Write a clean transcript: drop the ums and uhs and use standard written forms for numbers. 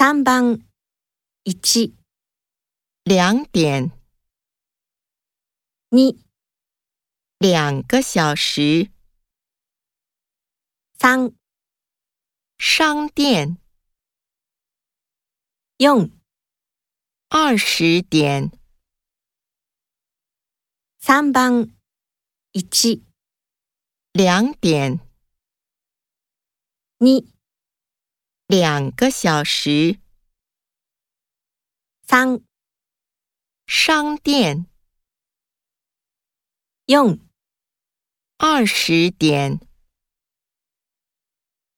3番1、 2点 2、 2个小时 3、 商店 4、 20点 3番1、 2点 2、 2个小时 3、 商店 4、 20点